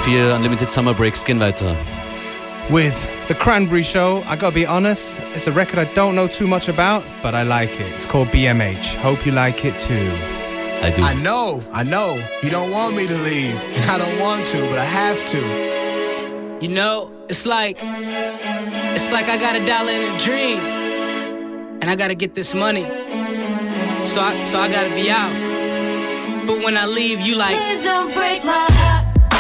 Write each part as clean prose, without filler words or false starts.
FM4 Unlimited Summer Breaks gehen weiter. With The Cranberry Show, I gotta be honest, it's a record I don't know too much about, but I like it. It's called BMH. Hope you like it too. I do. I know. You don't want me to leave, and I don't want to, but I have to. You know, it's like I got $1 in a dream, and I gotta get this money. So I gotta be out. But when I leave, you like, please don't break my heart.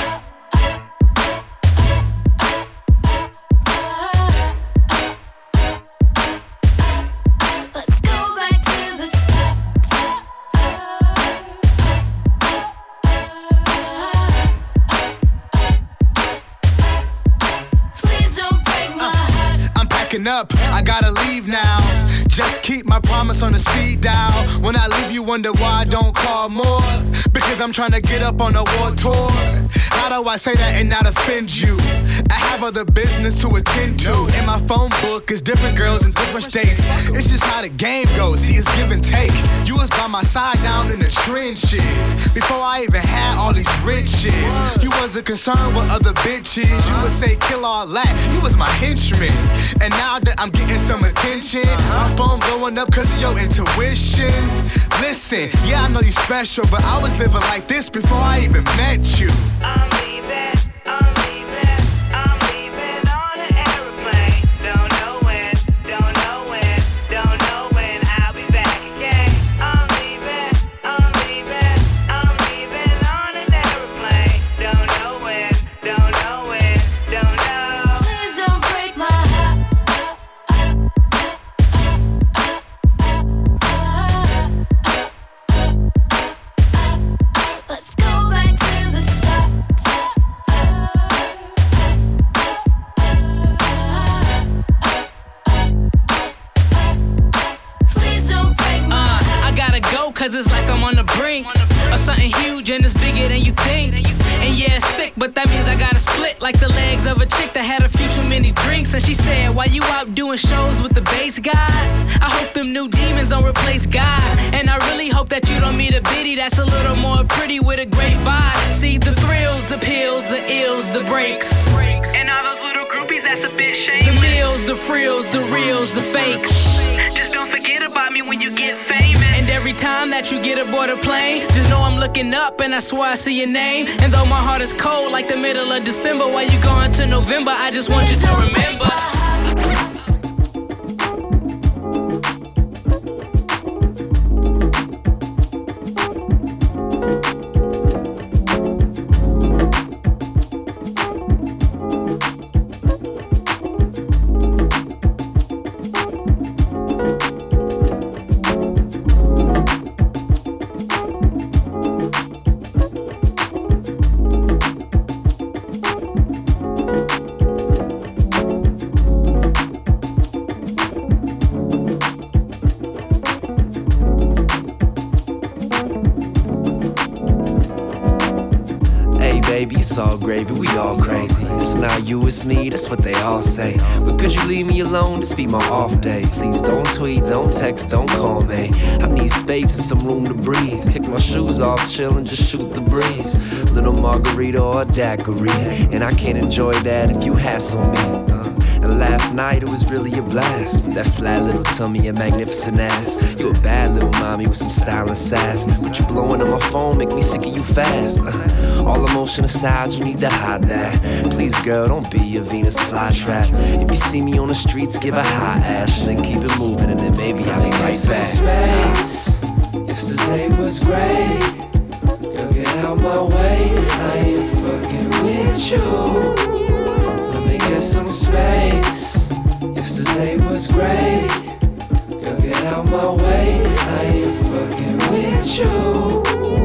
Up, I gotta leave now. Just keep my promise on the speed dial. When I leave, you wonder why I don't call more. Because I'm trying to get up on a war tour. How do I say that and not offend you? I have other business to attend to. In my phone book is different girls in different states. It's just how the game goes. See, it's give and take. You was by my side down in the trenches. Before I even had all these riches. You wasn't concerned with other bitches. You would say kill all that. You was my henchman. And now that I'm getting some attention, my phone blowing up cause of your intuitions. Listen, yeah, I know you special, but I was living like this before I even met you. I'm leaving on an aeroplane. Don't know when I'll be back again. I'm leaving on an aeroplane. Don't know when. Please don't break my heart. Let's go back to the start. Please don't break my heart. I gotta go cause it's like I'm on the brink of something huge and it's bigger than you think. And yeah, it's sick, but that means I gotta split like the legs of a chick that had a few too many drinks. And she said, why you out doing shows with the bass guy? I hope them new demons don't replace God. And I really hope that you don't meet a biddy that's a little more pretty with a great vibe. See, the thrills, the pills, the ills, the breaks. And all those little groupies, that's a bit shameless. The meals, the frills, the reels, the fakes. Just don't forget about me when you get famous. And every time that you get aboard a plane, just know I'm looking up and I swear I see your name. And though my heart is cold like the middle of December, while you going to November, I just want you to remember. It's all gravy, we all crazy. It's not you, it's me, that's what they all say. But could you leave me alone, this be my off day. Please don't tweet, don't text, don't call me. I need space and some room to breathe. Kick my shoes off, chill and just shoot the breeze. Little margarita or a daiquiri. And I can't enjoy that if you hassle me. And last night it was really a blast. That flat little tummy and magnificent ass. You a bad little mommy with some style and sass. But you blowing on my phone make me sick of you fast. All emotion aside, you need to hide that. Please girl, don't be a Venus flytrap. If you see me on the streets, give a high ash. Then keep it moving and then maybe I'll be right back. Space. Yesterday was great. Girl, get out my way. I ain't fucking with you. Get some space. Yesterday was great. Girl, get out my way. I ain't fucking with you.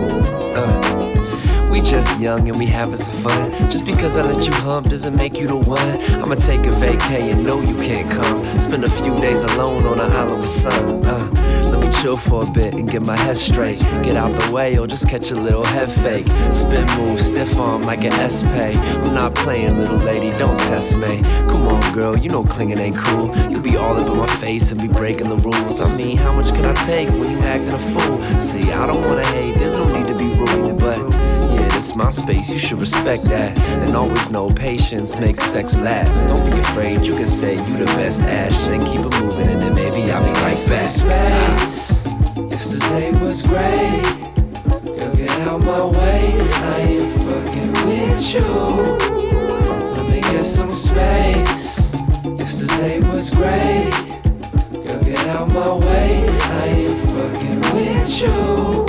We just young and we having some fun. Just because I let you hump doesn't make you the one. I'ma take a vacay and know you can't come. Spend a few days alone on an island with sun. Let me chill for a bit and get my head straight. Get out the way or just catch a little head fake. Spin move, stiff arm like an S-Pay. I'm not playing, little lady, don't test me. Come on, girl, you know clinging ain't cool. You be all up in my face and be breaking the rules. I mean, how much can I take when you acting a fool? See, I don't wanna hate, there's no need to be rude, but yeah, It's my space, you should respect that. And always know patience makes sex last. Don't be afraid, you can say you the best, Ash. Then keep it moving and then maybe I'll be right back. Space. Yesterday was great. Girl, get out my way. I ain't fucking with you. Let me get some space. Yesterday was great. Girl, get out my way. I ain't fucking with you.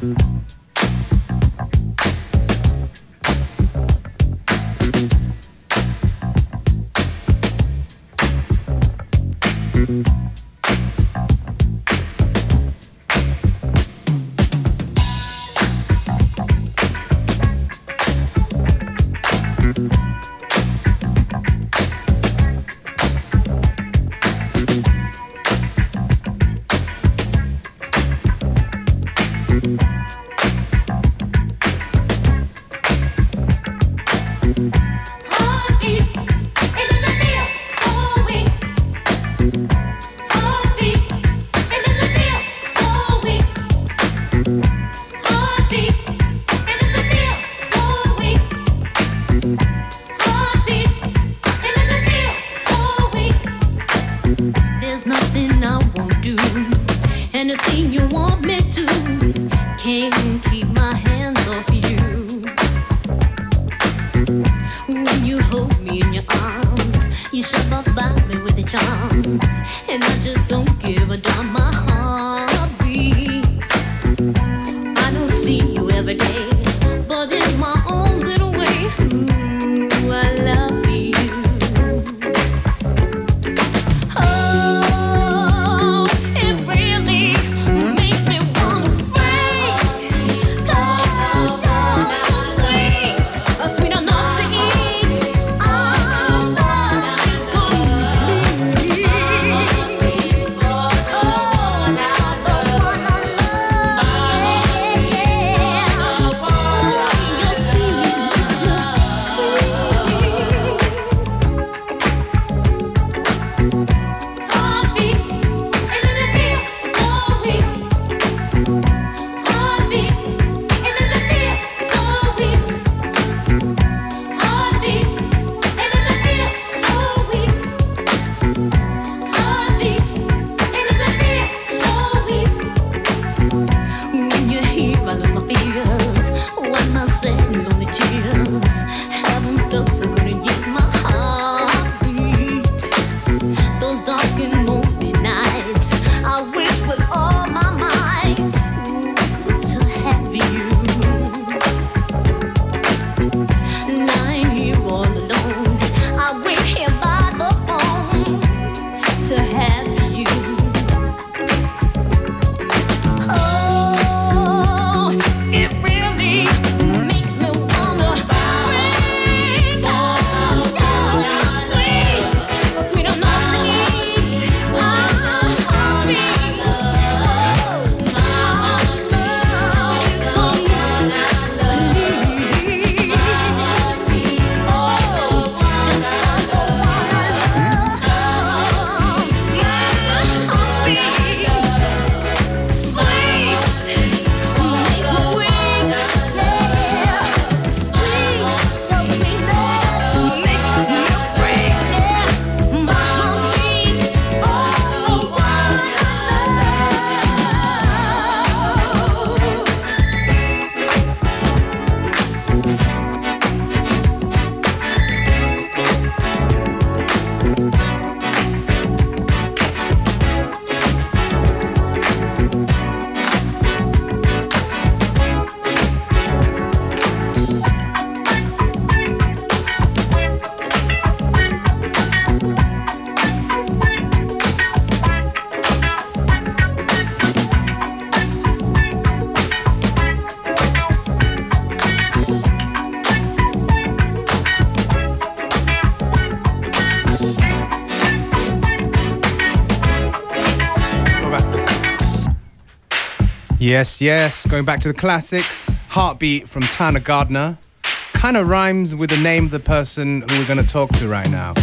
Yes, yes. Going back to the classics. Heartbeat from Tana Gardner. Kind of rhymes with the name of the person who we're going to talk to right now.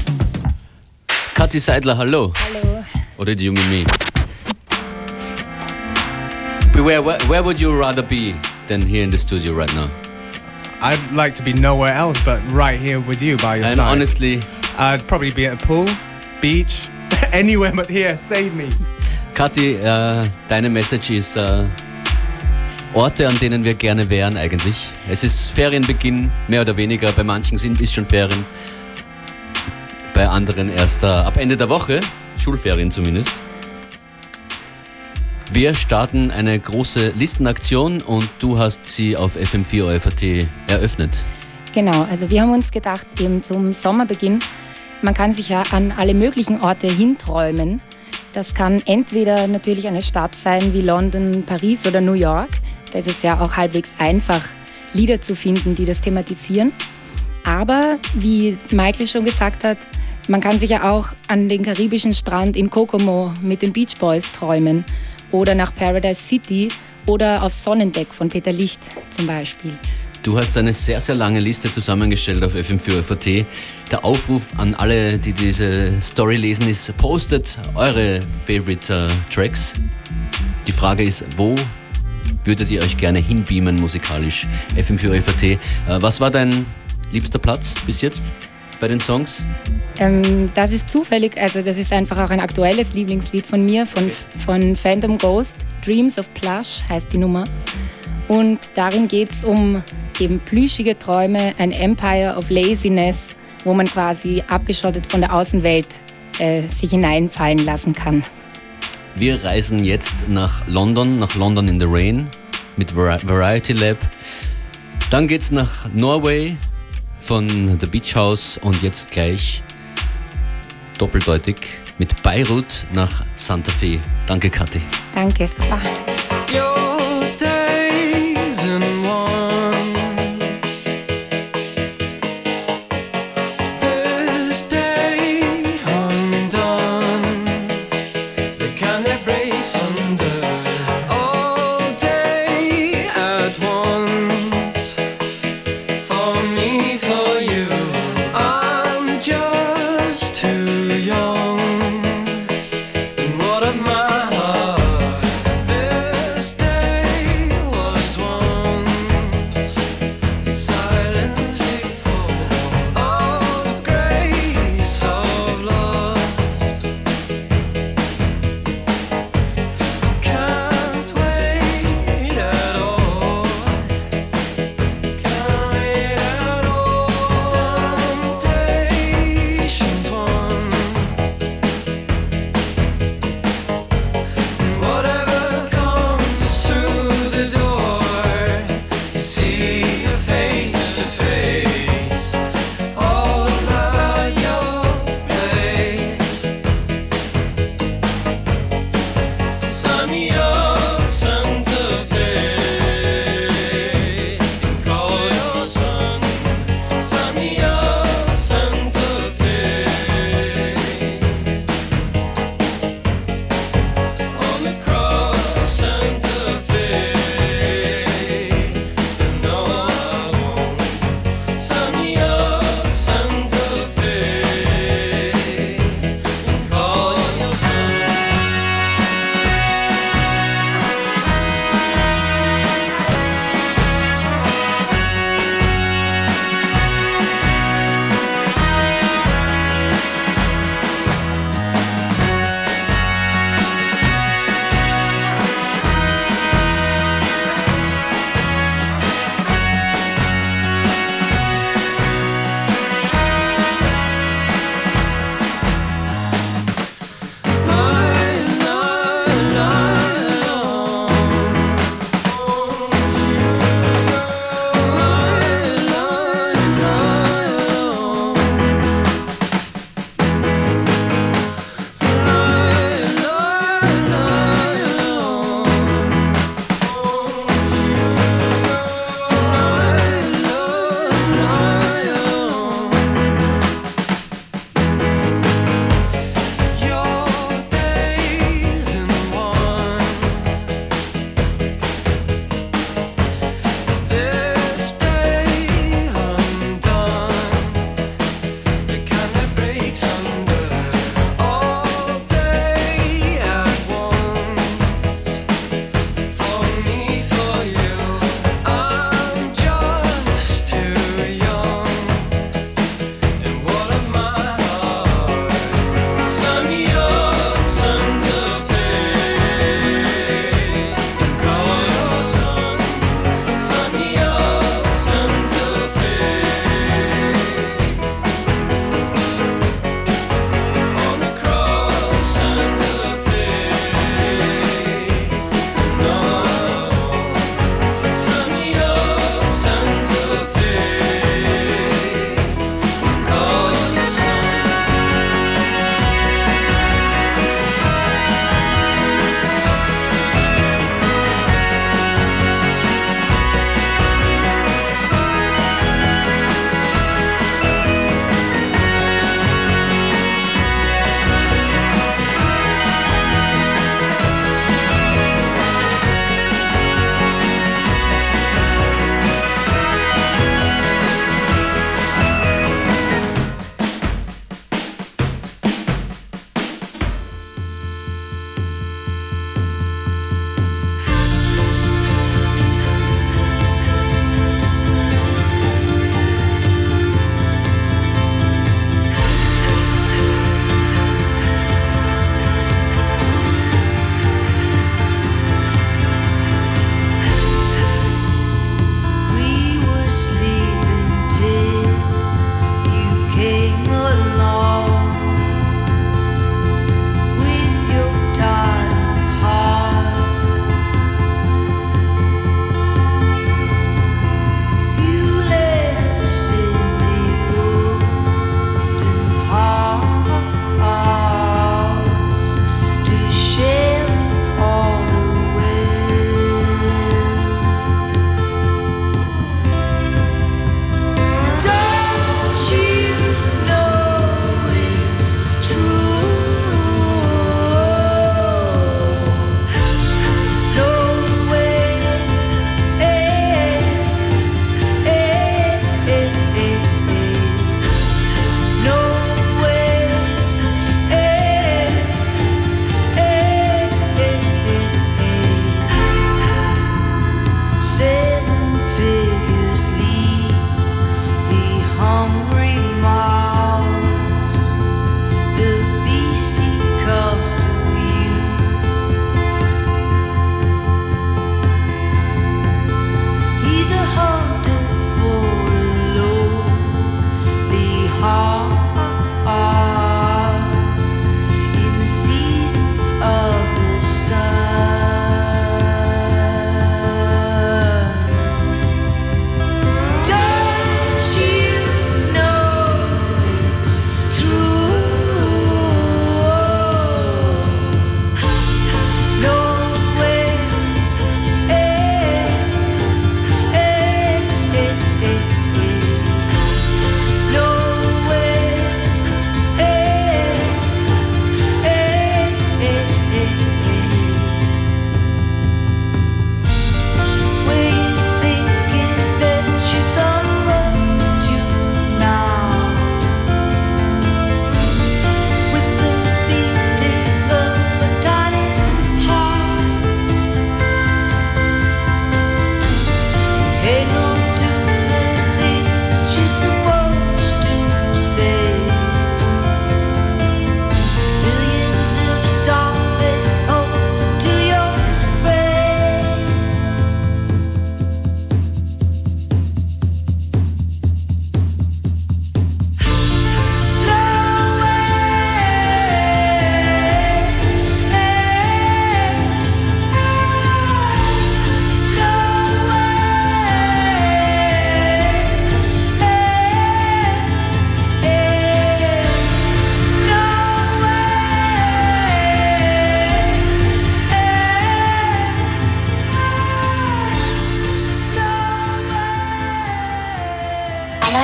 Kathi Seidler, hallo. Hallo. Or do you mean me? Where would you rather be than here in the studio right now? I'd like to be nowhere else but right here with you by your And side. honestly, I'd probably be at a pool, beach, anywhere but here. Save me. Kathi, deine Message ist Orte, an denen wir gerne wären eigentlich. Es ist Ferienbeginn, mehr oder weniger. Bei manchen ist schon Ferien. Bei anderen erst ab Ende der Woche. Schulferien zumindest. Wir starten eine große Listenaktion und du hast sie auf FM4 OFAT eröffnet. Genau, also wir haben uns gedacht, eben zum Sommerbeginn, man kann sich ja an alle möglichen Orte hinträumen. Das kann entweder natürlich eine Stadt sein wie London, Paris oder New York. Da ist es ja auch halbwegs einfach, Lieder zu finden, die das thematisieren. Aber, wie Michael schon gesagt hat, man kann sich ja auch an den karibischen Strand in Kokomo mit den Beach Boys träumen oder nach Paradise City oder auf Sonnendeck von Peter Licht zum Beispiel. Du hast eine sehr, sehr lange Liste zusammengestellt auf FM4 OFAT. Der Aufruf an alle, die diese Story lesen, ist, postet eure Favorite Tracks. Die Frage ist, wo würdet ihr euch gerne hinbeamen musikalisch? FM4 OFAT. Was war dein liebster Platz bis jetzt bei den Songs? Das ist zufällig, also das ist einfach auch ein aktuelles Lieblingslied von mir, von Phantom Ghost. Dreams of Plush heißt die Nummer. Und darin geht es um eben plüschige Träume, ein Empire of Laziness, wo man quasi abgeschottet von der Außenwelt sich hineinfallen lassen kann. Wir reisen jetzt nach London in the Rain mit Variety Lab. Dann geht's nach Norway von The Beach House und jetzt gleich doppeldeutig mit Beirut nach Santa Fe. Danke, Kathi. Danke. Bye. Your days in one. This day undone. The kind that breaks under. All day at once. For me, for you. I'm just too young. And what of my heart? This day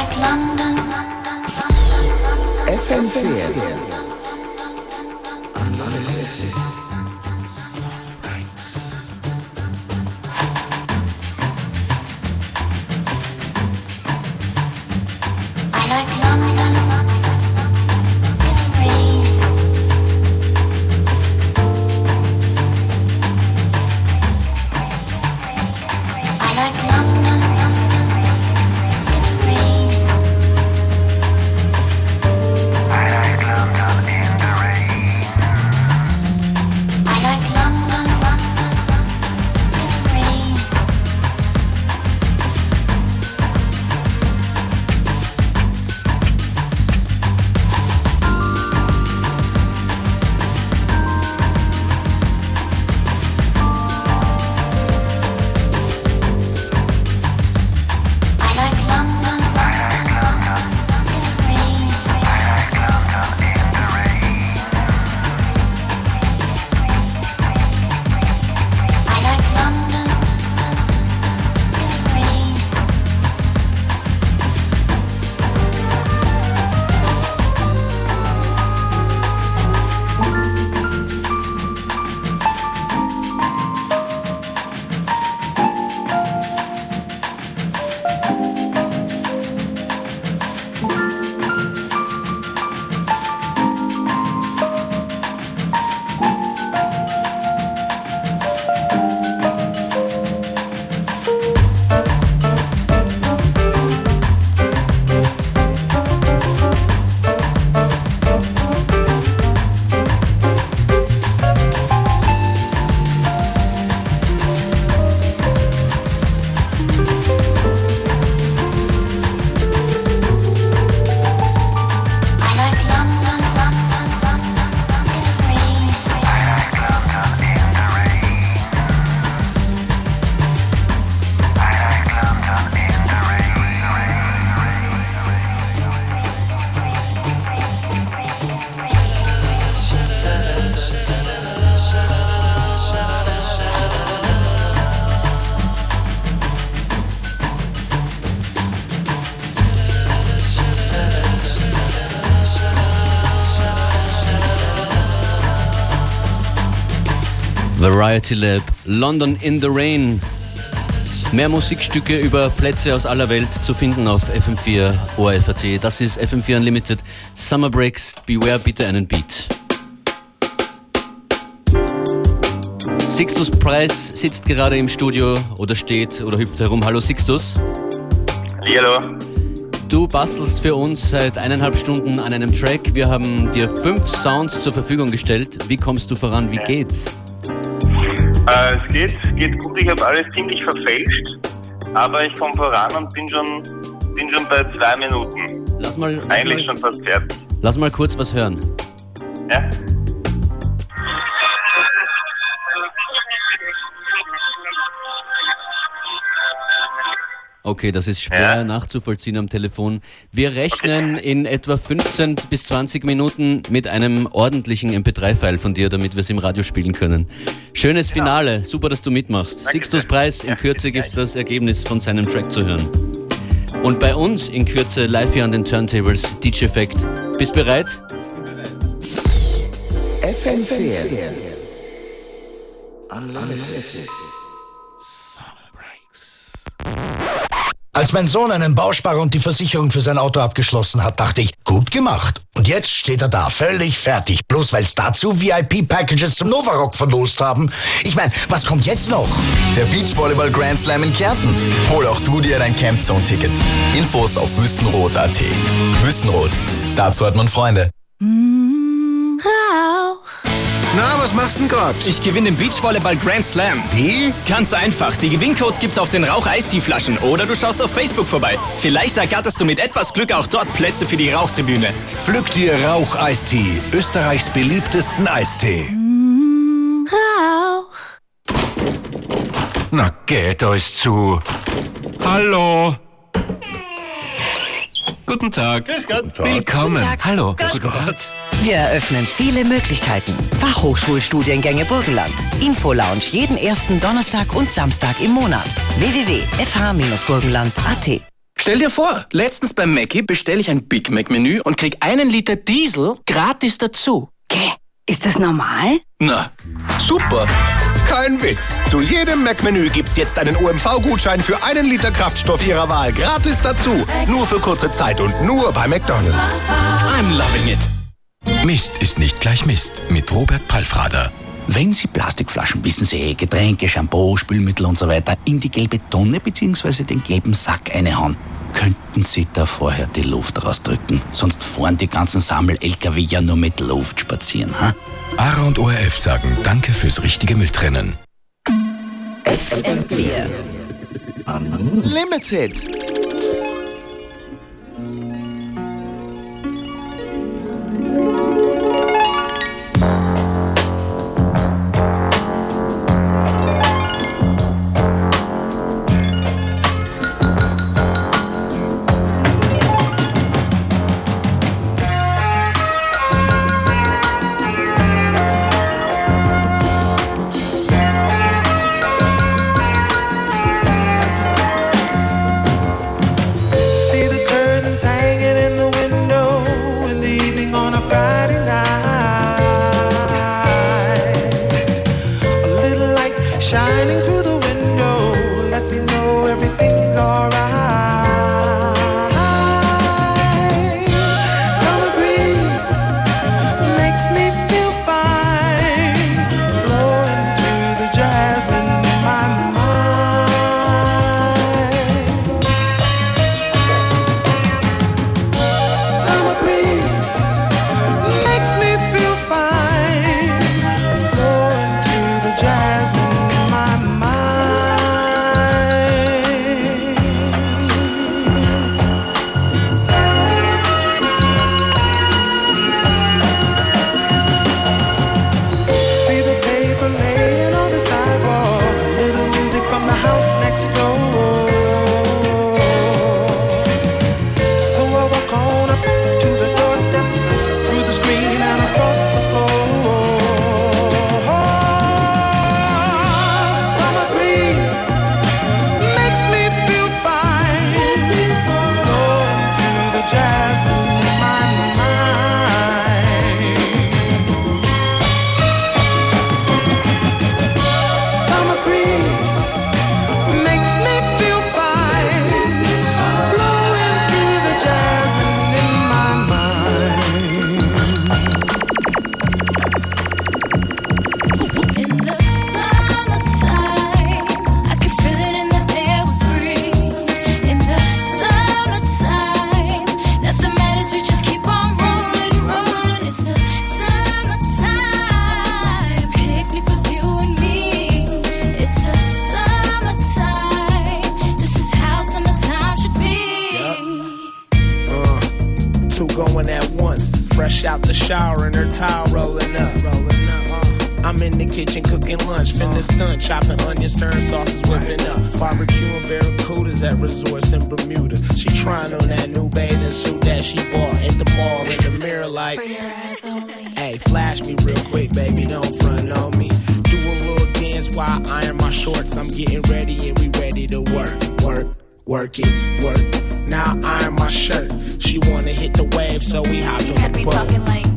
like London. FM4 Unlimited. Variety Lab, London in the Rain. Mehr Musikstücke über Plätze aus aller Welt zu finden auf FM4 ORF.at. Das ist FM4 Unlimited. Summer Breaks, beware bitte einen Beat. Sixtus Price sitzt gerade im Studio oder steht oder hüpft herum. Hallo Sixtus. Hallo. Du bastelst für uns seit 1,5 Stunden an einem Track. Wir haben dir 5 Sounds zur Verfügung gestellt. Wie kommst du voran? Wie geht's? Es geht gut. Ich habe alles ziemlich verfälscht, aber ich komme voran und bin schon bei 2 Minuten. Eigentlich schon fast fertig. Lass mal kurz was hören. Ja. Okay, das ist schwer nachzuvollziehen am Telefon. Wir rechnen in etwa 15 bis 20 Minuten mit einem ordentlichen MP3-File von dir, damit wir es im Radio spielen können. Schönes Finale, super, dass du mitmachst. Danke. Sixtus Price, in Kürze gibt es das Ergebnis von seinem Track zu hören. Und bei uns in Kürze live hier an den Turntables, DJ Effect. Bist bereit? FM4 Unlimited. Als mein Sohn einen Bausparer und die Versicherung für sein Auto abgeschlossen hat, dachte ich, gut gemacht. Und jetzt steht er da, völlig fertig. Bloß weil es dazu VIP-Packages zum Novarock verlost haben. Ich meine, was kommt jetzt noch? Der Beachvolleyball Grand Slam in Kärnten. Hol auch du dir dein Campzone-Ticket. Infos auf wüstenrot.at. Wüstenrot, dazu hat man Freunde. Rauch. Na, was machst du denn grad? Ich gewinne den Beachvolleyball Grand Slam. Wie? Ganz einfach. Die Gewinncodes gibt's auf den Rauch-Eistee-Flaschen oder du schaust auf Facebook vorbei. Vielleicht ergatterst du mit etwas Glück auch dort Plätze für die Rauchtribüne. Pflück dir Rauch-Eistee, Österreichs beliebtesten Eistee. Rauch. Na, geht euch zu. Hallo. Guten Tag. Grüß Gott. Willkommen. Guten Tag. Hallo. Guten Tag. Wir eröffnen viele Möglichkeiten. Fachhochschulstudiengänge Burgenland. Info-Lounge jeden ersten Donnerstag und Samstag im Monat. www.fh-burgenland.at Stell dir vor, letztens beim Mackie bestelle ich ein Big Mac Menü und krieg 1 Liter Diesel gratis dazu. Gäh, ist das normal? Na, super. Kein Witz. Zu jedem Mac-Menü gibt's jetzt einen OMV-Gutschein für 1 Liter Kraftstoff Ihrer Wahl gratis dazu. Nur für kurze Zeit und nur bei McDonald's. I'm loving it. Mist ist nicht gleich Mist mit Robert Palfrader. Wenn Sie Plastikflaschen, wissen Sie, Getränke, Shampoo, Spülmittel und so weiter, in die gelbe Tonne bzw. den gelben Sack einhauen, könnten Sie da vorher die Luft rausdrücken. Sonst fahren die ganzen Sammel-LKW ja nur mit Luft spazieren. Ha? ARA und ORF sagen Danke fürs richtige Mülltrennen. FM4 Unlimited. out the shower and her towel rolling up. I'm in the kitchen cooking lunch, finna stun, chopping onions, stirring sauces, whipping up. Barbecuing barracudas at resorts in Bermuda. She trying on that new bathing suit that she bought at the mall in the mirror like, hey, flash me real quick, baby, don't front on me. Do a little dance while I iron my shorts. I'm getting ready and we ready to work it. Now I iron my shirt. She wanna hit the wave, so we hopped on the boat.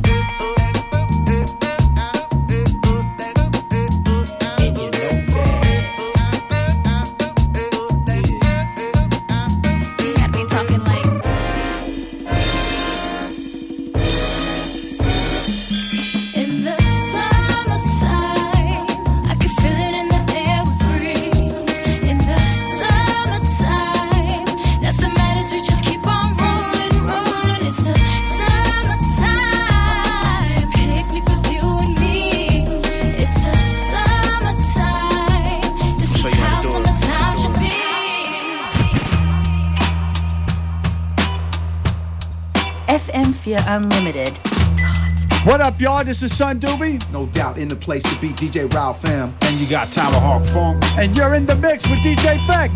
FM4 Unlimited. It's hot. What up, y'all? This is Son Doobie. No doubt in the place to be DJ Ralph Fam. And you got Tomahawk Funk. And you're in the mix with DJ Feck.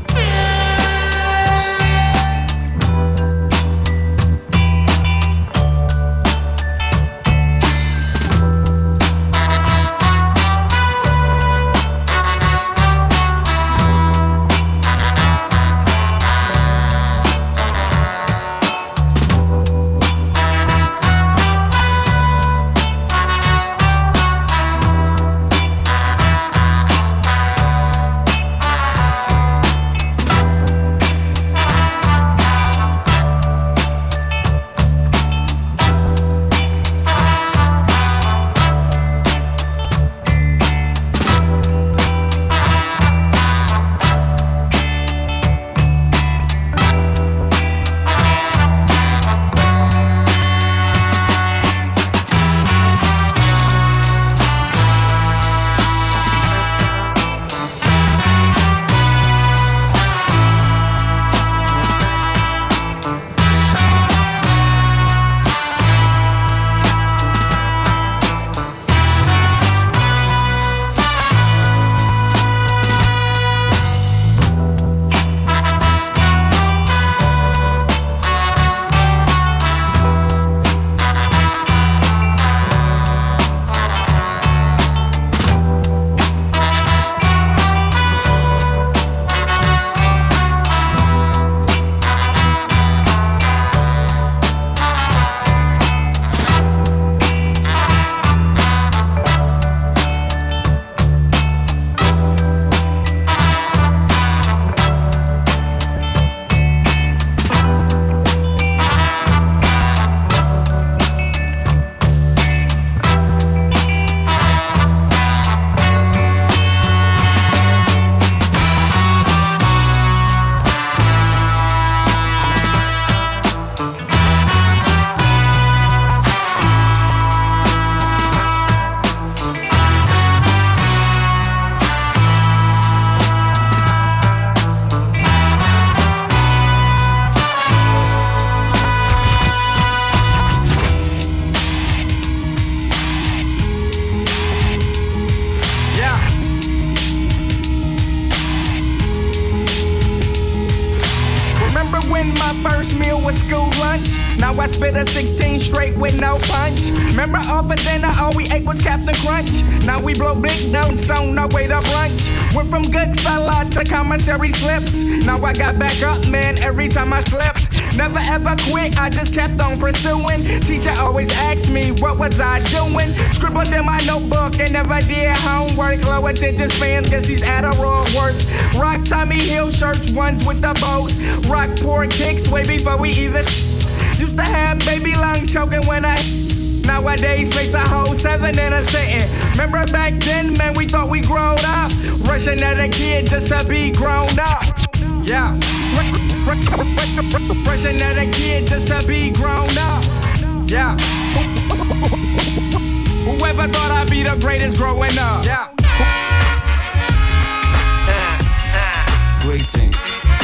when my first meal was school lunch. Now I spit a 16 straight with no punch. Remember all for dinner, all we ate was Captain Crunch. Now we blow big notes on our way to brunch. Went from good fella to commissary slips. Now I got back up, man, every time I slipped. Never ever quit, I just kept on pursuing. Teacher always asked me, what was I doing? Scribbled in my notebook and never did homework. Low attention spans, guess these Adderall work. Rock Tommy Hill shirts, ones with the boat. Rock poor kicks way before we even used to have baby lungs choking when I nowadays face a whole 7 in a sitting. Remember back then, man, we thought we grown up. Rushing at a kid just to be grown up. Yeah. Rushing at a kid just to be grown up. Yeah. Whoever thought I'd be the greatest growing up. Yeah. Greetings.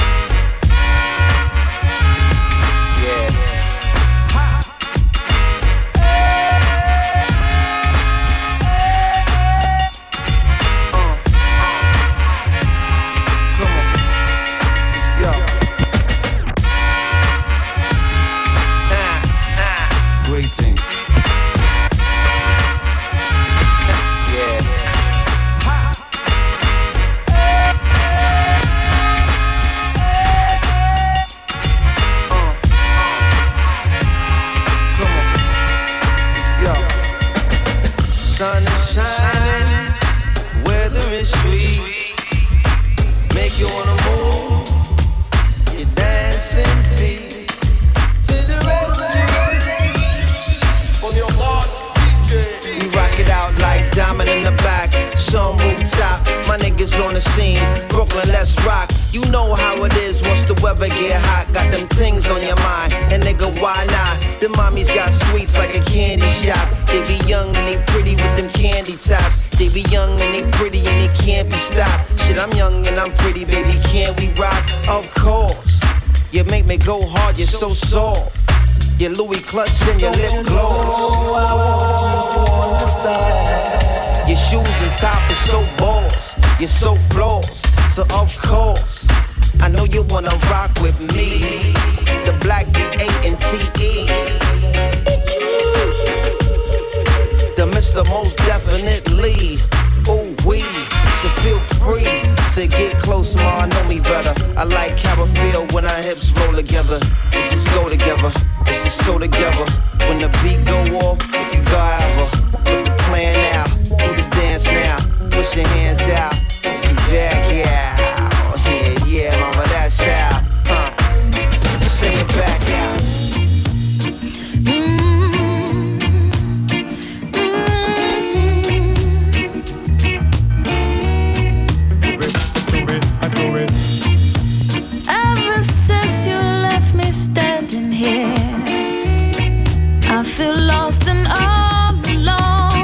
Sun is shining, weather is sweet. Make you wanna move, you dancing feet to the rescue. For your boss, DJ. We rock it out like diamond in the back, sun rooftop. My niggas on the scene, Brooklyn, let's rock. You know how it is once the weather get hot. Got them things on your mind, and nigga, why not? The mommies got sweets like a candy shop. They be young and they pretty with them candy tops. They be young and they pretty and they can't be stopped. Shit, I'm young and I'm pretty, baby, can't we rock? Of course. You make me go hard, you're so soft. Your Louis clutched and your lip closed. Your shoes and top is so boss. You're so floss. So of course, I know you wanna rock with me. The black D8 and TE. The Mr. Most Definitely. Ooh wee. So feel free to get close, ma. Know me better. I like how I feel when our hips roll together. It just go together. It's just so together. When the beat go off, if you go ever. Put the plan out. Do the dance now. Push your hands out. You back, yeah. Yeah, yeah, mama, that's how. Sing it back out. Ever since you left me standing here, I feel lost and all alone.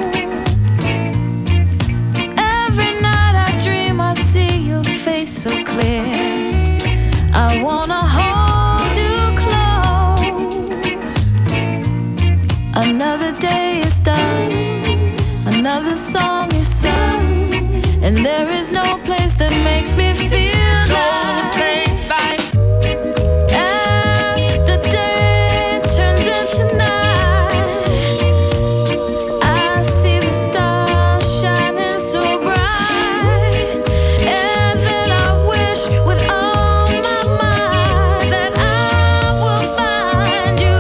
Every night I dream I see your face so clear. I wanna hold you close. Another day is done, another song is sung, and there is no place that makes me feel like as the day turns into night, I see the stars shining so bright, and then I wish with all my might that I will find you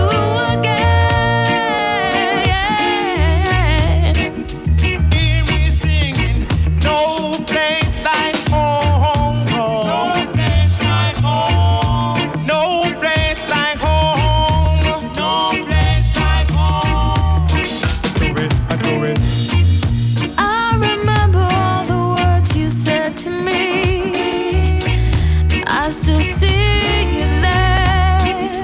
again. Hear me singing, no place like home, no place like home, no place like home, no place like home. I remember all the words you said to me. I still see you there.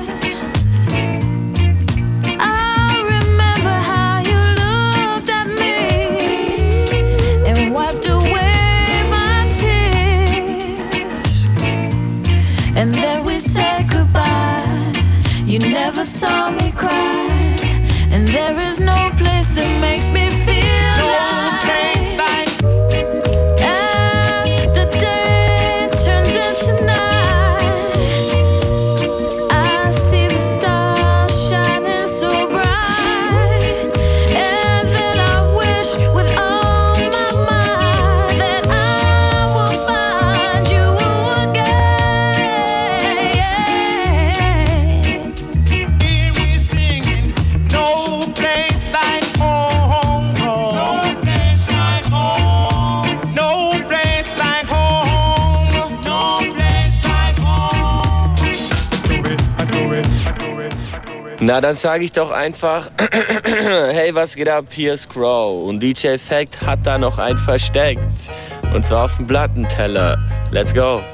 I remember how you looked at me and wiped away my tears. And then we said goodbye. You never saw me cry. And there is no place that makes me feel like as the day turns into night, Na, dann sage ich doch einfach, hey, was geht ab, hier ist Crow. Und DJ Effect hat da noch einen versteckt. Und zwar auf dem Plattenteller. Let's go.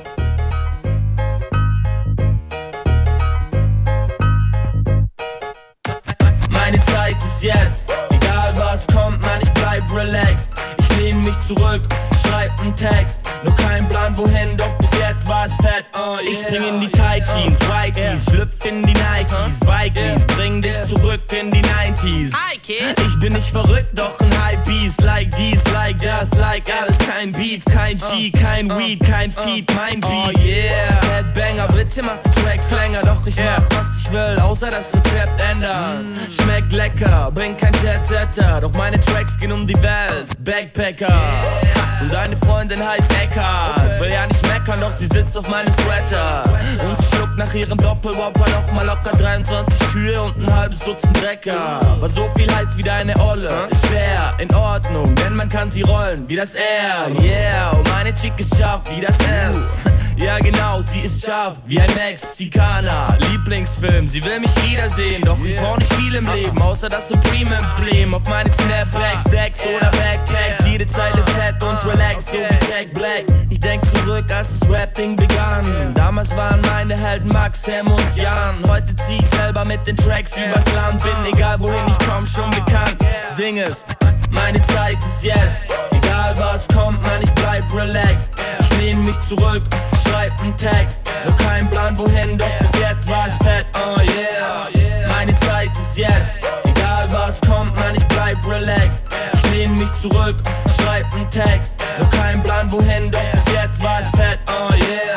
Meine Zeit ist jetzt, egal was kommt, man, ich bleib relaxed. Ich lehne mich zurück, schreib einen Text. Noch kein Plan wohin, doch bis jetzt war es fett. Ich spring in die Tight Jeans, Whiteys, schlüpf in die Nikes, Bikies, bring dich zurück in die 90s. Ich bin nicht verrückt, doch ein Hypebeast, like dies, like das, like alles. Kein Beef, kein G, kein Weed, kein Feed, mein Beat. Headbanger, bitte mach die Tracks länger, doch ich mach, was ich will, außer das Rezept ändern. Schmeckt lecker, bin kein Jetsetter, doch meine Tracks gehen um die Welt. Backpacker. Und deine Freundin heißt Eckhart. Will ja nicht meckern, doch sie sitzt auf meinem Sweater. Und sie schluckt nach ihrem Doppelwhopper nochmal locker 23 Kühe und ein halbes Dutzend Drecker. Was so viel heißt wie deine Olle, ist schwer, in Ordnung, denn man kann sie rollen wie das R. Yeah, und meine Chick ist scharf wie das S. Ja genau, sie ist scharf wie ein Mexikaner. Lieblingsfilm, sie will mich wiedersehen, doch ich brauch nicht viel im Leben, außer das Supreme-Emblem auf meinen Snapbacks, Decks oder Backpacks. Jede Zeile fett und relax, so wie Jack Black. Ich denk zurück, als das Rapping begann. Damals waren meine Helden Max, Sam und Jan. Heute zieh ich selber mit den Tracks übers Land. Bin egal wohin ich komm, schon bekannt. Sing es, meine Zeit ist jetzt. Egal was kommt, man, ich bleib relaxed. Ich lehne mich zurück, schreib einen Text. Noch kein Plan wohin, doch bis jetzt war es fett. Oh yeah, meine Zeit ist jetzt. Egal was kommt, man, ich bleib relaxed. Ich lehne mich zurück, schreib einen Text. Noch kein Plan wohin, doch bis jetzt war es fett. Oh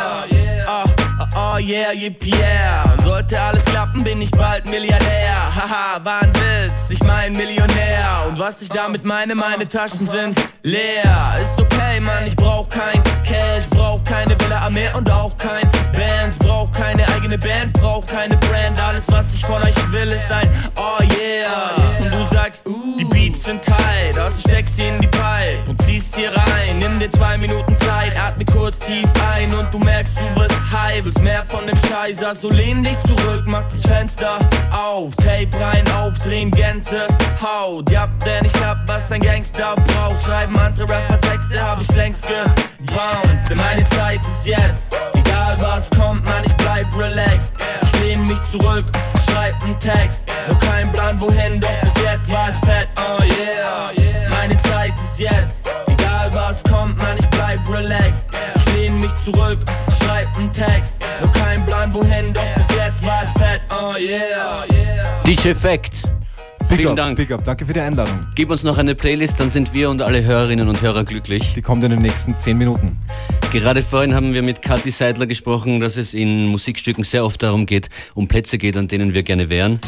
yeah, oh yeah, yippie yeah. Und sollte alles klappen, bin ich bald Milliardär. Haha, war ein Witz, ich mein Millionär. Und was ich damit meine Taschen sind leer. Ist okay, Mann, ich brauch kein Cash, brauch keine Villa am Meer und auch kein Bands. Brauch keine eigene Band, brauch keine Brand. Alles, was ich von euch will, ist ein oh yeah. Und du sagst, die Beats sind tight, also steckst sie in die Pipe und ziehst sie rein. Nimm dir 2 Minuten Zeit, atme kurz tief ein und du merkst, du wirst high, willst mehr von dem Scheiß. Also lehn dich zurück, mach das Fenster auf, Tape rein, aufdrehen, Gänsehaut. Ja, denn ich hab, was ein Gangster braucht. Schreiben andere Rapper-Texte, hab ich längst gebounced. Denn meine Zeit ist jetzt, egal was kommt, man, ich bleib relaxed. Ich lehn mich zurück, schreib einen Text. Noch kein Plan wohin, doch bis jetzt war es fett. Oh yeah, meine Zeit ist jetzt. Egal was kommt, man, ich bleib relaxed. Ich lehn mich zurück, schreib einen Text. Noch kein Plan wohin, doch bis jetzt war es fett. Oh yeah. DJ Effect. Vielen Dank. Big up, danke für die Einladung. Gib uns noch eine Playlist, dann sind wir und alle Hörerinnen und Hörer glücklich. Die kommt in den nächsten 10 Minuten. Gerade vorhin haben wir mit Kathi Seidler gesprochen, dass es in Musikstücken sehr oft darum geht, um Plätze geht, an denen wir gerne wären.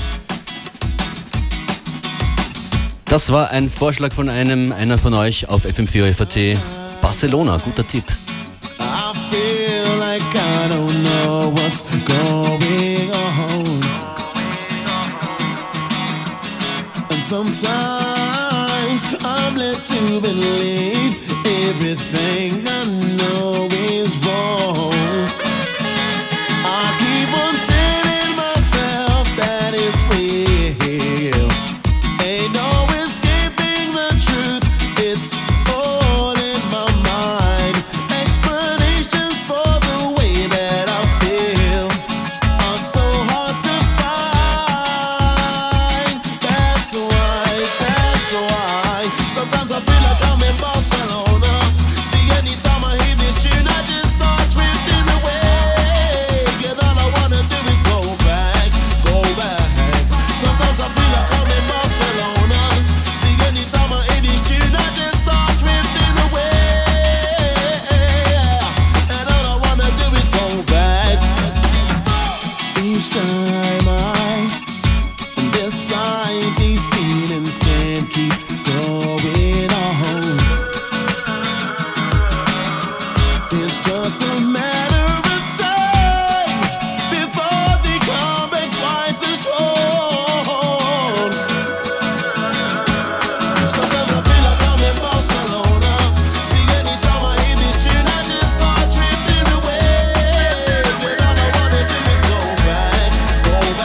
Das war ein Vorschlag von einer von euch auf FM4 FAT. Barcelona, guter Tipp. I feel like I don't know what's going on. And sometimes I'm led to believe everything I know is wrong. I keep on telling myself that it's real. Ain't no escaping the truth, it's all in my mind. Explanations for the way that I feel are so hard to find. That's why sometimes I feel like I'm in Barcelona. See, anytime I hear this tune, I just start drifting away. And all I wanna do is go back. Sometimes I feel like I'm in Barcelona. See, anytime I hear this tune, I just start drifting away. And all I wanna do is go back. Each time I decide these feelings can't keep going on. It's just a matter of time before the complex rises strong. Sometimes I feel like I'm in Barcelona. See, anytime I hear this tune, I just start drifting away. And all I wanna do is go back.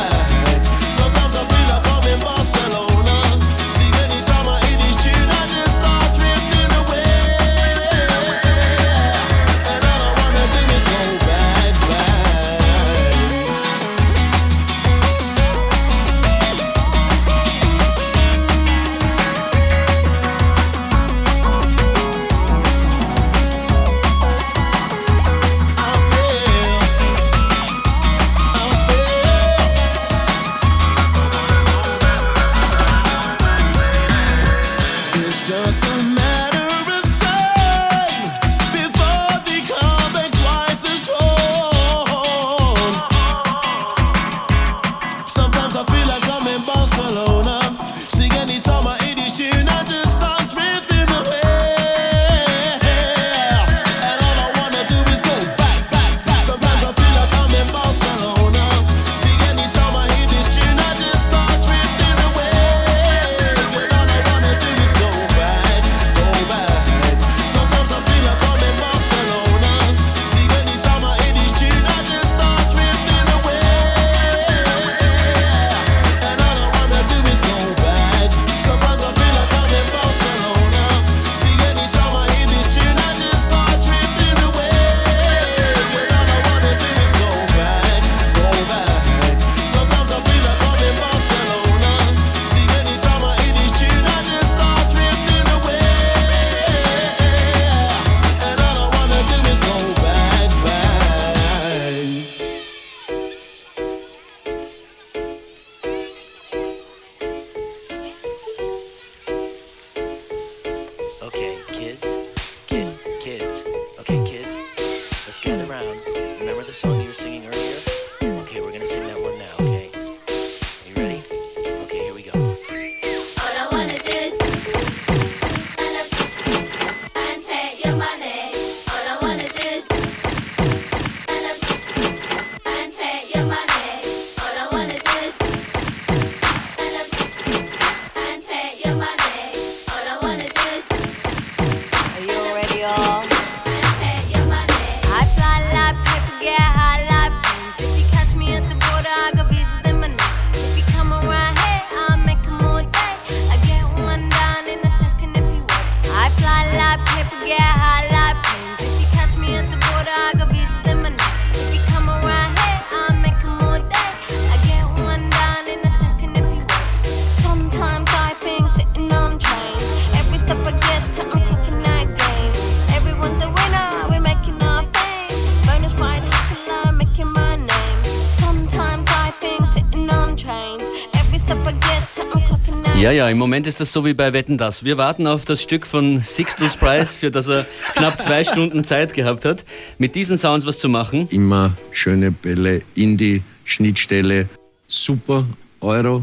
Ja, im Moment ist das so wie bei Wetten, dass. Wir warten auf das Stück von Sixtus Price, für das er knapp 2 Stunden Zeit gehabt hat, mit diesen Sounds was zu machen. Immer schöne Bälle in die Schnittstelle. Super Euro.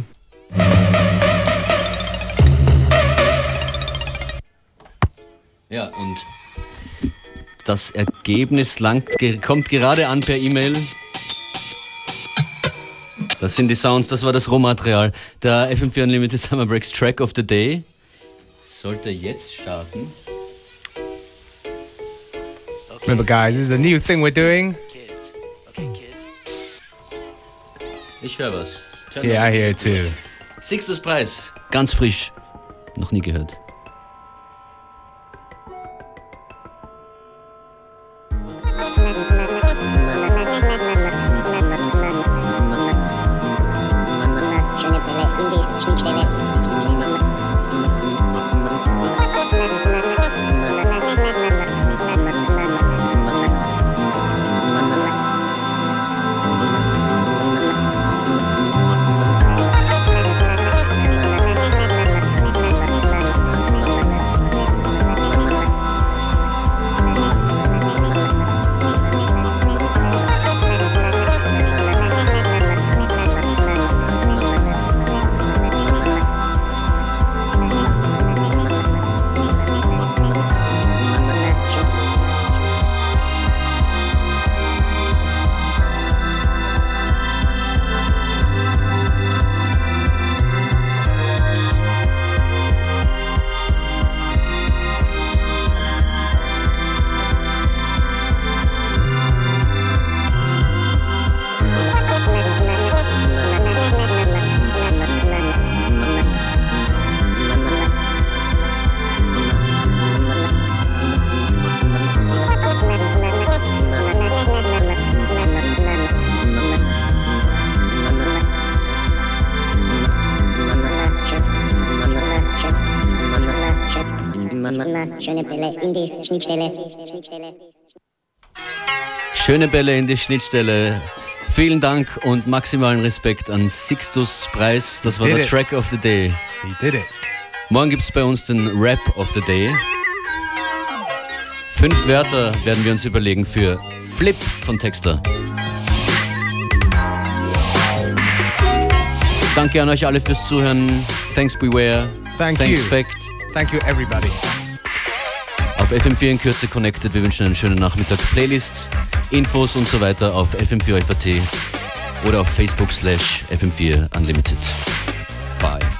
Ja, und das Ergebnis kommt gerade an per E-Mail. Das sind die Sounds, das war das Rohmaterial. Der FM4 Unlimited Summer Breaks Track of the Day sollte jetzt starten. Remember guys, this is a new thing we're doing. Ich höre was. Yeah, I hear it too. Sixtus Price, ganz frisch. Noch nie gehört. Schöne Bälle in die Schnittstelle. Schöne Bälle in die Schnittstelle. Vielen Dank und maximalen Respekt an Sixtus Price. Das war der Track of the Day. He did it. Morgen gibt es bei uns den Rap of the Day. 5 Wörter werden wir uns überlegen für Flip von Texter. Danke an euch alle fürs Zuhören. Thanks Beware. Thanks you. Fact. Thank you everybody. Auf FM4 in Kürze connected. Wir wünschen einen schönen Nachmittag. Playlist, Infos und so weiter auf FM4 FAT oder auf Facebook /FM4 Unlimited. Bye.